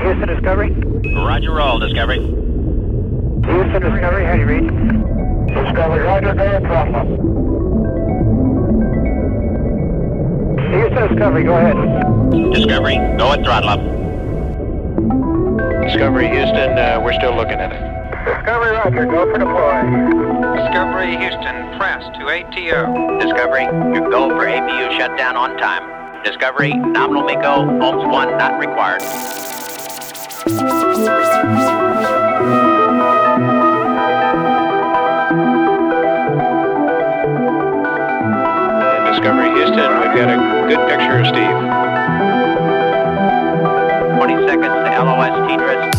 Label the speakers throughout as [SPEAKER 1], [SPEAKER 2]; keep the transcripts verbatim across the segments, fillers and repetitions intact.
[SPEAKER 1] Houston Discovery.
[SPEAKER 2] Roger, roll, Discovery.
[SPEAKER 1] Houston Discovery, how do you read? Discovery, Roger, go ahead, throttle up. Houston Discovery, go ahead.
[SPEAKER 2] Discovery, go and throttle up.
[SPEAKER 3] Discovery, Houston, uh, we're still looking at it.
[SPEAKER 1] Discovery, Roger, go for deploy.
[SPEAKER 4] Discovery, Houston, press to A T O.
[SPEAKER 2] Discovery, your go for A P U shutdown on time. Discovery, nominal MECO, Ohms one not required.
[SPEAKER 3] Discovery, Houston, we've got a good picture of Steve.
[SPEAKER 2] twenty seconds to L O S T D R I S.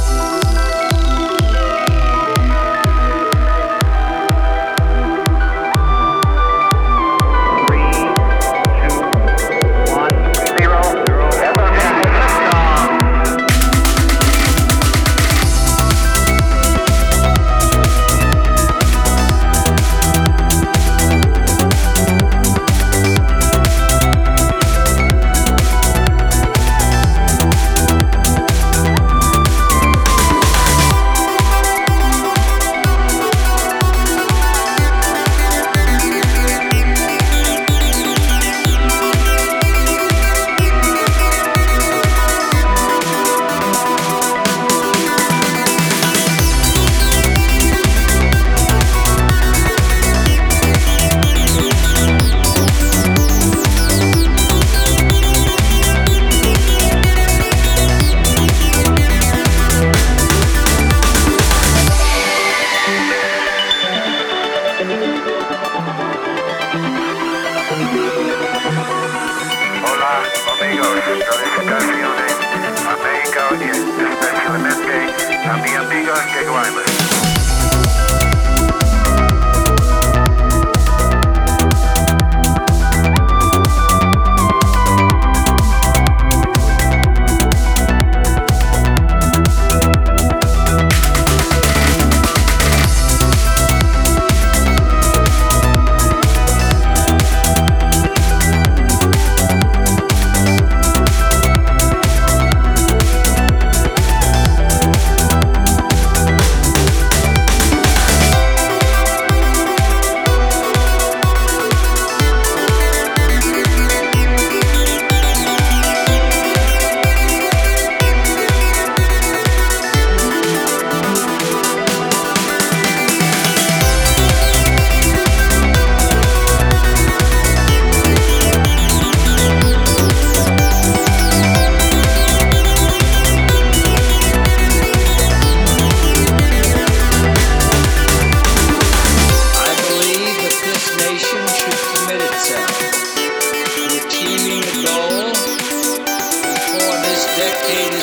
[SPEAKER 5] Hola, amigos, felicitaciones. América, especialmente a mi amiga de Guaymas.
[SPEAKER 6] Decade